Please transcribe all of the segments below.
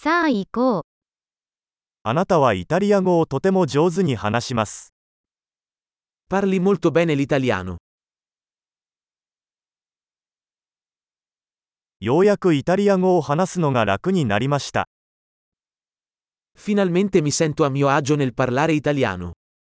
さあ行こう。 あなたはイタリア語をとても上手に話します。 Parli molto bene l'italiano. ようやくイタリア語を話すのが楽になりました。 Finalmente mi sento a mio agio nel parlare italiano.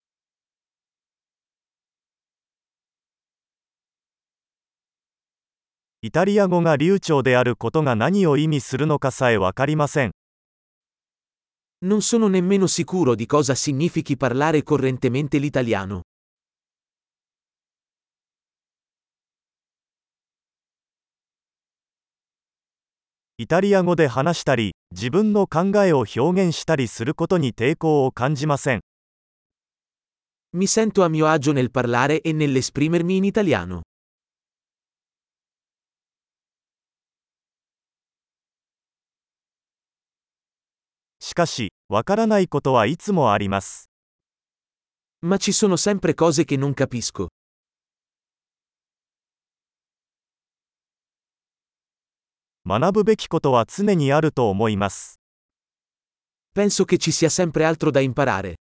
イタリア語が流暢であることが何を意味するのかさえわかりません。 Non sono nemmeno sicuro di cosa significhi parlare correntemente l'italiano. イタリア語で話したり、自分の考えを表現したりすることに抵抗を感じません。 Mi sento a mio agio nel parlare e nell'esprimermi in italiano. しかし、わからないことはいつもあります。 Ma ci sono sempre cose che non capisco. 学ぶべきことは常にあると思います。 Penso che ci sia sempre altro da imparare.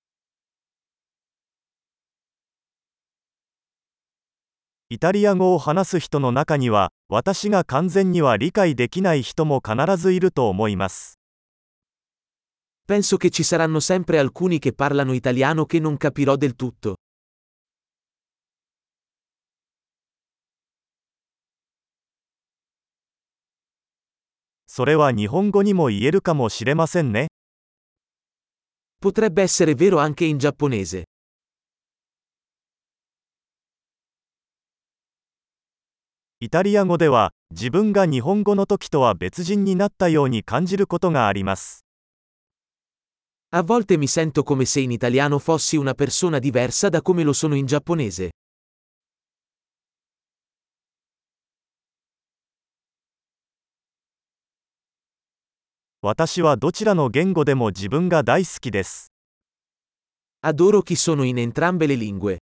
イタリア語を話す人の中には、私が完全には理解できない人も必ずいると思います。 Penso che ci saranno sempre alcuni che parlano italiano che non capirò del tutto. それは日本語にも言えるかもしれませんね。 Potrebbe essere vero anche in giapponese. イタリア語では、自分が日本語の時とは別人になったように感じることがあります。 A volte mi sento come se in italiano fossi una persona diversa da come lo sono in giapponese. 私はどちらの言語でも自分が大好きです。 Adoro chi sono in entrambe le lingue.